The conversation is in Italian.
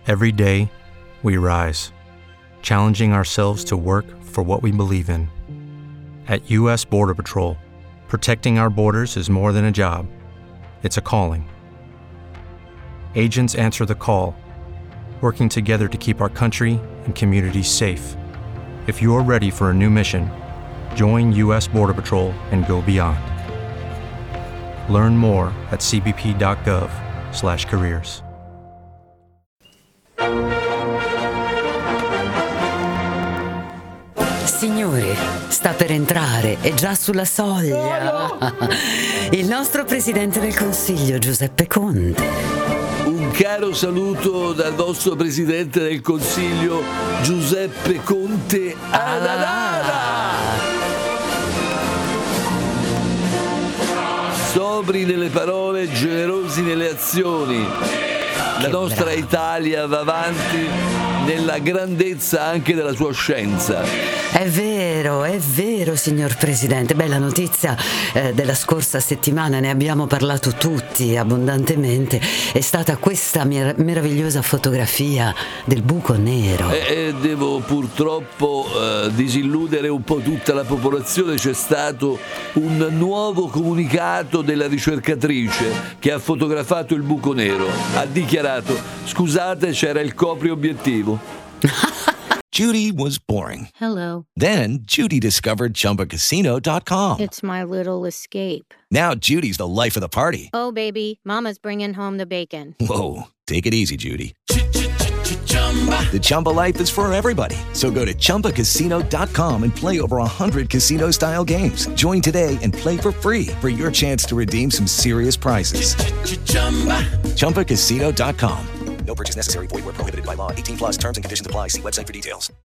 Every day, we rise, challenging ourselves to work for what we believe in. At U.S. Border Patrol, protecting our borders is more than a job. It's a calling. Agents answer the call, working together to keep our country and communities safe. If you're ready for a new mission, join U.S. Border Patrol and go beyond. Learn more at cbp.gov/careers. Signori, sta per entrare, è già sulla soglia. Il nostro Presidente del Consiglio, Giuseppe Conte. Un caro saluto dal vostro Presidente del Consiglio, Giuseppe Conte Adanara. Sobri nelle parole, generosi nelle azioni. La nostra Italia va avanti nella grandezza anche della sua scienza. È vero, signor Presidente. Bella notizia della scorsa settimana, ne abbiamo parlato tutti abbondantemente. È stata questa meravigliosa fotografia del buco nero. Devo purtroppo disilludere un po' tutta la popolazione. C'è stato un nuovo comunicato della ricercatrice che ha fotografato il buco nero. Ha dichiarato: scusate, c'era il copriobiettivo. Judy was boring. Hello. Then Judy discovered ChumbaCasino.com. It's my little escape. Now Judy's the life of the party. Oh, baby, mama's bringing home the bacon. Whoa, take it easy, Judy. The Chumba life is for everybody. So go to ChumbaCasino.com and play over 100 casino-style games. Join today and play for free for your chance to redeem some serious prizes. ChumbaCasino.com. No purchase necessary. Void where prohibited by law. 18+ terms and conditions apply. See website for details.